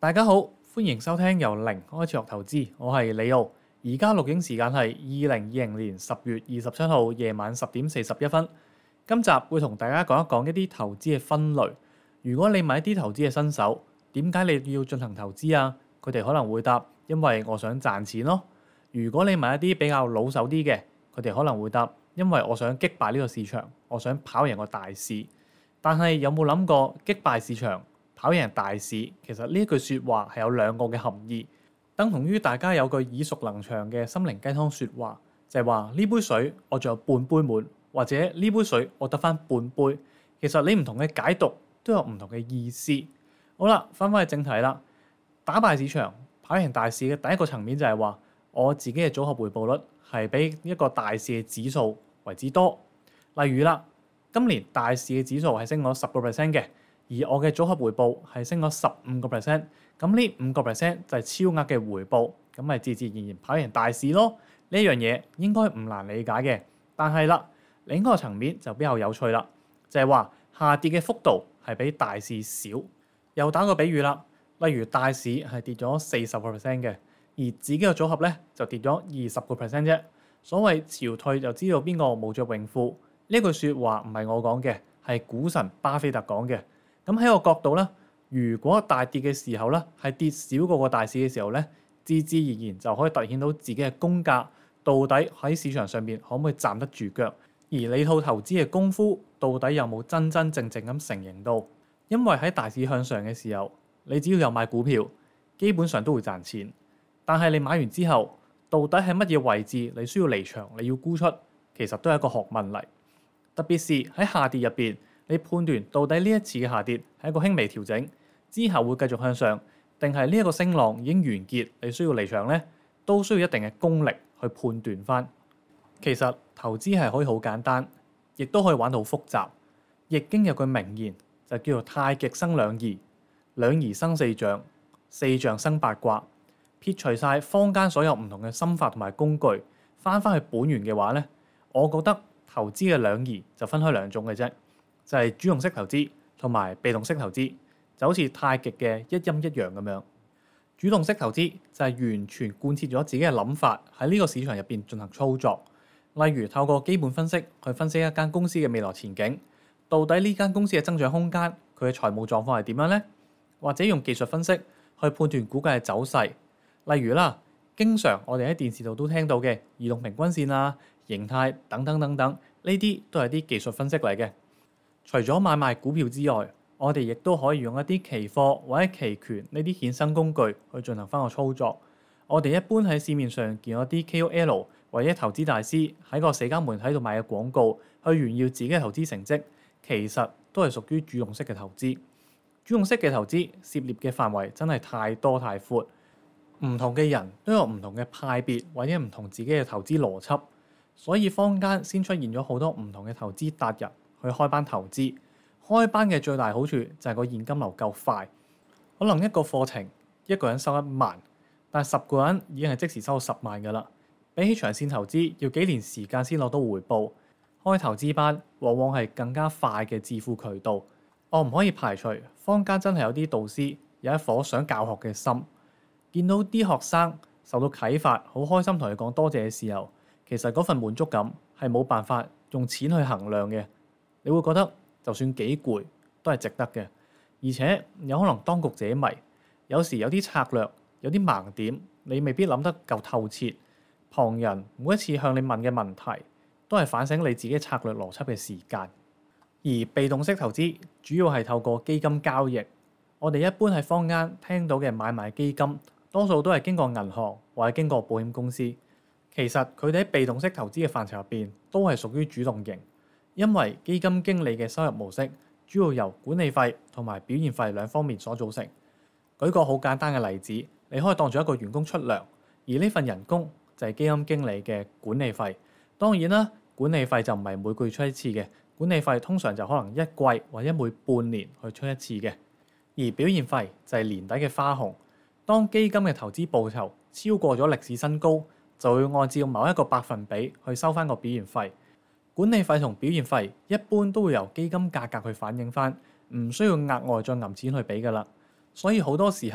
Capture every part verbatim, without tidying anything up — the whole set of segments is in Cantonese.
大家好，歡迎收聽由零開始學投資，我係李奧。而家錄影時間係二零二零年十月二十七號夜晚十點四十一分。今集會同大家講一講一啲投資嘅分類。如果你買一啲投資嘅新手，點解你要進行投資啊？佢哋可能會答：因為我想賺錢咯。如果你買一啲比較老手啲嘅，佢哋可能會答：因為我想擊敗呢個市場，我想跑贏個大市。但係有冇諗過擊敗市場、跑贏大市？其實呢一句説話係有兩個嘅含義，等同於大家有句耳熟能詳嘅心靈雞湯説話，就係話呢杯水我仲有半杯滿，或者呢杯水我得返半杯。其實你唔同嘅解讀都有唔同嘅意思。好啦，翻返去正題啦。打敗市場、跑贏大市嘅第一個層面就係話，我自己嘅組合回報率係比一個大市嘅指數為之多。例如啦，今年大市嘅指數係升咗十個 percent 嘅，而我嘅組合回報係升咗十五個 percent。咁呢五個 percent 就係超額嘅回報，咁咪自自然然跑贏大市咯。呢樣嘢應該唔難理解嘅。但係啦，另一個層面就比較有趣啦，就係話下跌嘅幅度係比大市少。又打個比喻啦，例如大市係跌咗四十個 percent 嘅，而自己嘅組合咧就跌咗二十個 percent 啫。所謂潮退就知道邊個冇着泳褲，呢句説話唔係我講嘅，係股神巴菲特講嘅。咁喺個角度咧，如果大跌嘅時候咧係跌少過個大市嘅時候咧，自自然然就可以凸顯到自己嘅功架到底喺市場上面可唔可以站得住腳，而你套投資嘅功夫到底有冇真真正正咁成型到？因為喺大市向上嘅時候，你只要有買股票，基本上都會賺錢。但係你買完之後，到底喺乜嘢位置你需要離場，你要沽出，其實都係一個學問嚟。特別是喺下跌入邊，你判斷到底呢一次嘅下跌係一個輕微調整，之後會繼續向上，定係呢一個升浪已經完結，你需要離場呢，都需要一定嘅功力去判斷翻。其實投資係可以好簡單，亦都可以玩到好複雜。易經有句名言就叫做太極生兩儀，兩儀生四象，四象生八卦。撇除晒坊間所有唔同嘅心法同埋工具，翻返去本源嘅話呢，我覺得投資嘅兩儀就分開兩種嘅啫，就係主動式投資同埋被動式投資，就好似太極嘅一陰一陽咁樣。主動式投資就係完全貫徹咗自己嘅諗法喺呢個市場入邊進行操作，例如透過基本分析去分析一間公司嘅未來前景，到底呢間公司嘅增長空間，佢嘅財務狀況係點樣呢？或者用技術分析去判斷股價嘅走勢。例如啦，經常我哋喺電視度都聽到嘅移動平均線啊、形態等等等等，呢啲都係啲技術分析嚟嘅。除咗買賣股票之外，我哋亦都可以用一啲期貨或者期權呢啲衍生工具去進行翻個操作。我哋一般喺市面上見到啲 K O L 或者投資大師喺個社交媒體度賣嘅廣告，去炫耀自己嘅投資成績，其實都係屬於主動式嘅投資。主動式嘅投資涉獵嘅範圍真係太多太闊。唔同嘅人都有唔同嘅派別或者唔同自己嘅投資邏輯，所以坊間先出現咗好多唔同嘅投資達人去開班投資。開班嘅最大好處就係個現金流夠快，可能一個課程一個人收一萬，但係十個人已經係即時收到十萬㗎啦。比起長線投資要幾年時間先攞到回報，開投資班往往係更加快嘅致富渠道。我唔可以排除坊間真係有啲導師有一顆想教學嘅心。見到啲學生受到啟發，好開心同佢講多謝嘅時候，其實嗰份滿足感係冇辦法用錢去衡量嘅。你會覺得就算幾攰都係值得嘅，而且有可能當局者迷，有時有啲策略有啲盲點，你未必諗得夠透徹。旁人每一次向你問嘅問題，都係反省你自己策略邏輯嘅時間。而被動式投資主要係透過基金交易，我哋一般喺坊間聽到嘅買賣基金，多數都係經過銀行或者經過保險公司。其實佢哋喺被動式投資嘅範疇入邊都係屬於主動型，因為基金經理嘅收入模式主要由管理費同埋表現費兩方面所組成。舉個好簡單嘅例子，你可以當做一個員工出糧，而呢份人工就係基金經理嘅管理費。當然啦，管理費就唔係每個月出一次嘅，管理費通常就可能一季或者每半年去出一次嘅。而表現費就係年底嘅花紅。當基金嘅投資報酬超過咗歷史新高，就會按照某一個百分比去收翻個表現費。管理費同表現費一般都會由基金價格去反映翻，唔需要額外再揞錢去俾㗎啦。所以好多時候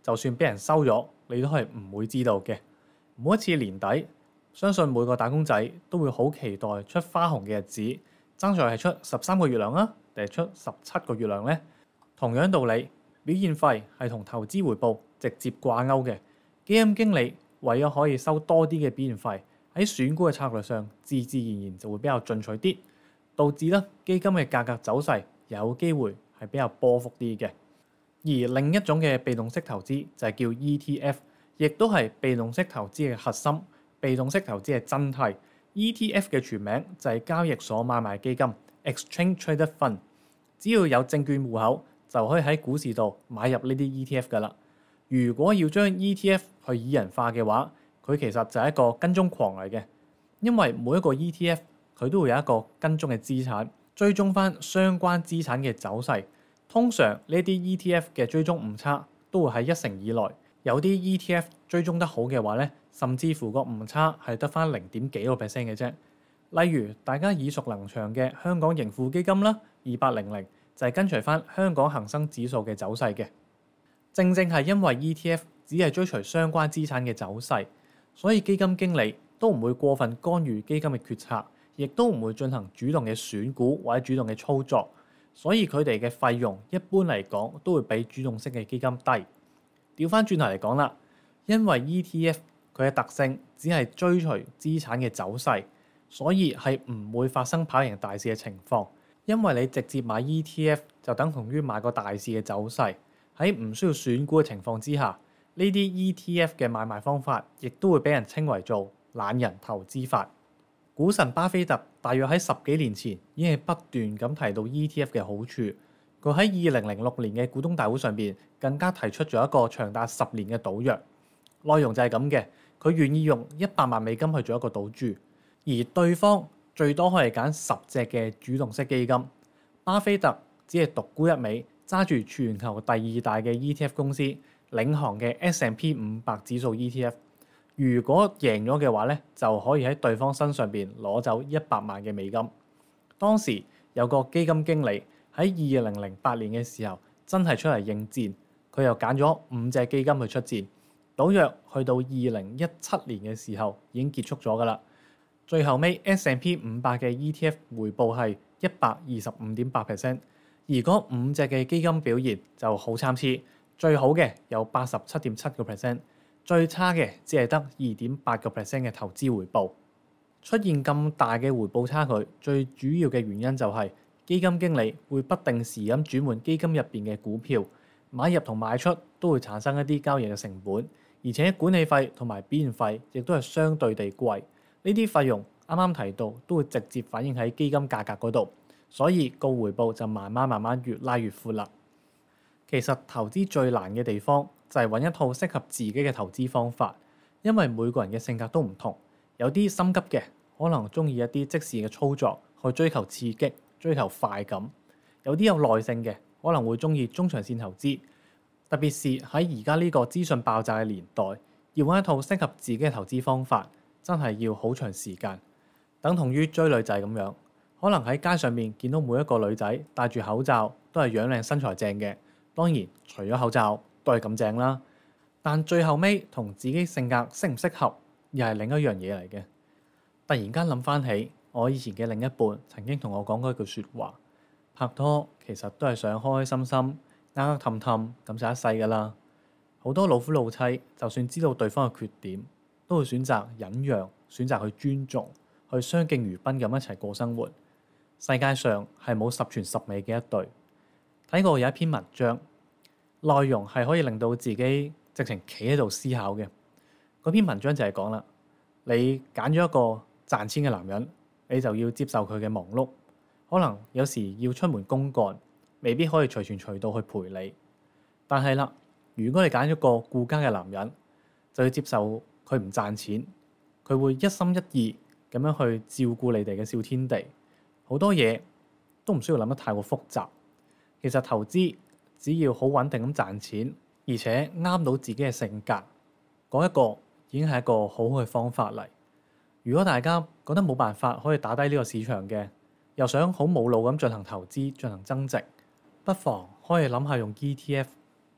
就算俾人收咗，你都係唔會知道嘅。每一次年底，相信每個打工仔都會好期待出花紅嘅日子，爭在係出十三個月糧啊，定係出十七個月糧呢？同樣道理，表現費係同投資回報直接掛鈎嘅。基金經理為咗可以收多啲嘅表現費，喺選股嘅策略上，自自然然就會比較進取啲，導致咧基金嘅價格走勢有機會係比較波幅啲嘅。而另一種嘅被動式投資就係叫 E T F， 亦都係被動式投資嘅核心。被動式投資係真諦。E T F 嘅全名就係交易所買賣基金 （Exchange Traded Fund）。只要有證券戶口，就可以喺股市度買入呢啲 E T F 㗎啦。如果要將 E T F 去擬人化嘅話，佢其實就係一個跟蹤狂嚟嘅，因為每一個 E T F 佢都會有一個跟蹤嘅資產，追蹤翻相關資產嘅走勢。通常呢啲 E T F 嘅追蹤誤差都會喺一成以內。有啲 E T F 追蹤得好嘅話咧，甚至乎個誤差係得翻零點幾個 percent 嘅啫。例如大家耳熟能詳嘅香港盈富基金啦，二八零零就係跟隨翻香港恒生指數嘅走勢嘅。正正係因為 E T F 只係追隨相關資產嘅走勢，所以基金經理都唔會過分干預基金嘅決策，亦都唔會進行主動嘅選股或者主動嘅操作，所以佢哋嘅費用一般嚟講都會比主動式嘅基金低。調翻轉頭嚟講啦，因為 E T F 佢嘅特性只係追隨資產嘅走勢，所以係唔會發生跑贏大市嘅情況。因為你直接買 E T F 就等同於買個大市嘅走勢，喺唔需要選股嘅情況之下，呢啲 E T F 嘅買賣方法亦都會俾人稱為做懶人投資法。股神巴菲特大約喺十幾年前已經係不斷咁提到 E T F 嘅好處。佢喺二零零六年嘅股東大會上邊更加提出咗一個長達十年嘅賭約，內容就係咁嘅。佢願意用一百萬美金去做一個賭注，而對方最多可以揀十隻嘅主動式基金。巴菲特只係獨沽一味，揸住全球第二大嘅 E T F 公司領航嘅 S and P 五百指數 E T F。如果贏咗嘅話咧，就可以喺對方身上邊攞走一百萬嘅美金。當時有個基金經理喺二零零八年嘅時候真係出嚟應戰，佢又揀咗五隻基金去出戰，賭約去到二零一七年嘅時候已經結束咗㗎啦。最後尾 S and P 五百嘅 E T F 回報係一百二十五點八 percent， 而嗰五隻嘅基金表現就好參差，最好嘅有八十七點七個 percent， 最差嘅只係得二點八個 percent 嘅投資回報。出現咁大嘅回報差距，最主要嘅原因就係基金經理會不定時咁轉換基金入邊嘅股票，買入同賣出都會產生一啲交易嘅成本，而且管理費同埋表現費亦都係相對地貴。呢啲費用啱啱提到都會直接反映喺基金價格嗰度，所以個回報就慢慢慢慢越拉越闊啦。其實投資最難嘅地方就係揾一套適合自己嘅投資方法，因為每個人嘅性格都唔同，有啲心急嘅可能中意一啲即時嘅操作去追求刺激，追求快感，有啲有耐性嘅可能會中意中長線投資。特別是喺而家呢個資訊爆炸嘅年代，要揾一套適合自己嘅投資方法，真係要好長時間。等同於追女仔咁樣，可能喺街上面見到每一個女仔戴住口罩都係樣靚身材正嘅，當然除咗口罩都係咁正啦。但最後尾同自己性格適唔適合，又係另一樣嘢嚟嘅。突然間諗翻起我以前嘅另一半曾經同我講過一句説話：拍拖其實都係想開開心心、啱啱氹氹咁就一世㗎啦。好多老夫老妻就算知道對方嘅缺點，都會選擇忍讓，選擇去尊重，去相敬如賓咁一齊過生活。世界上係冇十全十美嘅一對。睇過有一篇文章，內容係可以令到自己直情企喺度思考嘅。嗰篇文章就係講啦，你揀咗一個賺錢嘅男人，你就要接受佢嘅忙碌，可能有時要出門公幹，未必可以隨傳隨到去陪你。但係啦，如果你揀咗個顧家嘅男人，就要接受佢唔賺錢，佢會一心一意咁樣去照顧你哋嘅小天地，好多嘢都唔需要諗得太過複雜。其實投資只要好穩定咁賺錢，而且啱到自己嘅性格，嗰一個已經係一個好好嘅方法嚟。如果大家覺得冇辦法可以打低呢個市場嘅，又想好冇腦咁進行投資、進行增值，不妨可以諗下用 E T F。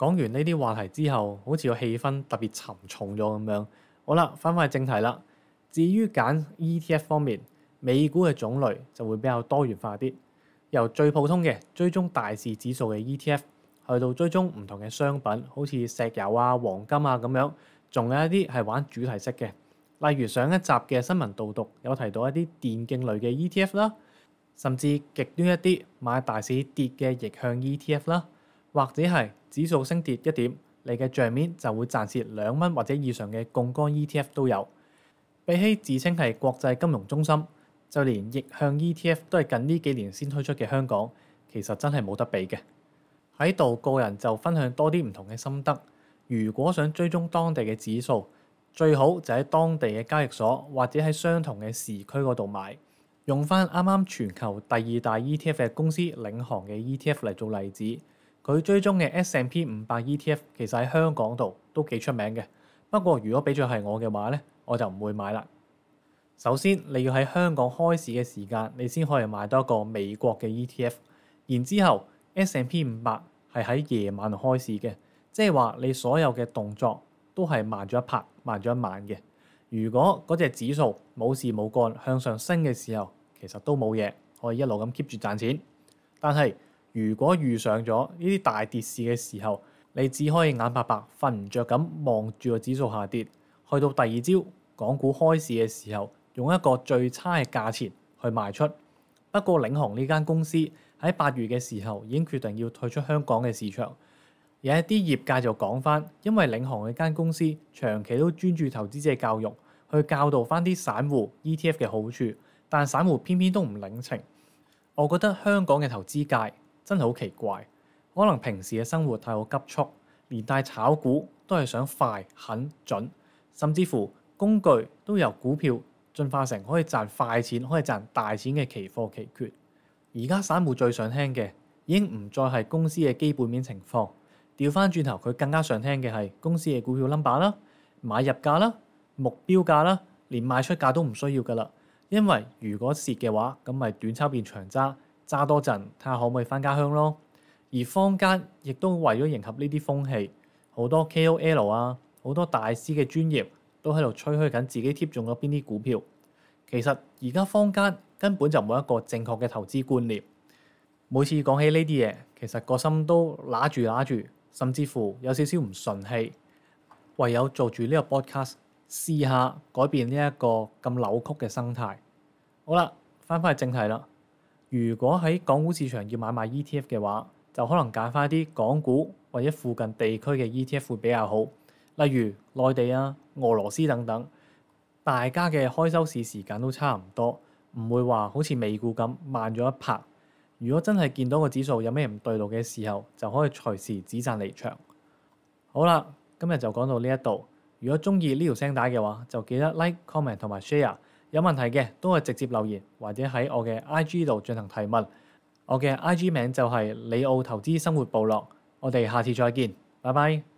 講完呢啲話題之後，好似個氣氛特別沉重咗咁樣。好啦，翻返去正題啦。至於揀 E T F 方面，美股嘅種類就會比較多元化啲，由最普通嘅追蹤大市指數嘅 E T F，去到追蹤唔同嘅商品，好似石油啊、黃金啊咁樣，仲有一啲係玩主題式嘅，例如上一集嘅新聞導讀有提到一啲電競類嘅 E T F 啦，甚至極端一啲買大市跌嘅逆向 E T F 啦，或者係指數升跌一點，你嘅帳面就會賺蝕兩蚊或者以上嘅槓桿 E T F 都有。比起自稱係國際金融中心，就連逆向 E T F 都係近呢幾年先推出嘅香港，其實真係冇得比嘅。喺度個人就分享多啲唔同嘅心得。如果想追蹤當地嘅指數，最好就喺當地嘅交易所或者喺相同嘅時區嗰度買。用翻啱啱全球第二大 E T F 嘅公司領航嘅 E T F 嚟做例子，佢追蹤嘅 S and P 五百 E T F 其實喺香港度都幾出名嘅。不過如果俾咗係我嘅話咧，我就唔會買啦。首先你要喺香港開市嘅時間，你先可以買到一個美國嘅 E T F。然之後 S and P 五百係喺夜晚度開市嘅，即係話你所有嘅動作都係慢咗一拍、慢咗一晚嘅。如果嗰隻指數冇事冇幹向上升嘅時候，其實都冇嘢，可以一路咁 keep 住賺錢。但係如果遇上咗呢啲大跌市嘅時候，你只可以眼白白瞓唔着咁望住個指數下跌，去到第二朝港股開市嘅時候，用一個最差嘅價錢去賣出。不過領航呢間公司喺八月嘅時候已經決定要退出香港嘅市場。有一啲業界就講翻，因為領航呢間公司長期都專注投資者教育，去教導翻啲散戶 E T F 嘅好處，但散戶偏偏都唔領情。我覺得香港嘅投資界真係好奇怪，可能平時嘅生活太過急促，連帶炒股都係想快、狠、準，甚至乎工具都由股票進化成可以賺快錢、可以賺大錢嘅期貨期權。而家散戶最想聽嘅已經唔再係公司嘅基本面情況，調翻轉頭佢更加想聽嘅係公司嘅股票 number 啦、買入價啦、目標價啦，連賣出價都唔需要噶啦。因為如果蝕嘅話，咁咪短炒變長揸，揸多陣睇下可唔可以翻家鄉咯。而坊間亦都為咗迎合呢啲風氣，好多 K O L 啊，好多大師嘅專業都喺度吹噓緊自己貼中咗邊啲股票。其實而家坊間根本就冇一個正確嘅投資觀念。每次講起呢啲嘢，其實個心都揦住揦住，甚至乎有少少唔順氣。唯有做住呢個 podcast，試下改變呢一個咁扭曲嘅生態。好啦，翻返去正題啦。如果喺港股市場要買賣 E T F 嘅話，就可能揀翻啲港股或者附近地區嘅 E T F 會比較好，例如內地啊、俄羅斯等等。大家嘅開收市時間都差唔多，唔會話好似美股咁慢咗一拍。如果真係見到個指數有咩唔對路嘅時候，就可以隨時止賺離場。好啦，今日就講到呢一度。如果中意呢條聲帶嘅話，就記得 like、comment 同埋 share。有問題嘅都係直接留言，或者喺我嘅 I G 度進行提問。我嘅 I G 名就係李奧投資生活部落。我哋下次再見，拜拜。